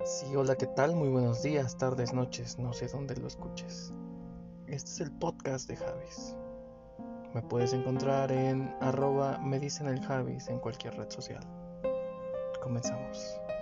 Sí, hola, ¿qué tal? Muy buenos días, tardes, noches, no sé dónde lo escuches. Este es el podcast de Javis. Me puedes encontrar en @me dicen el Javis en cualquier red social. Comenzamos.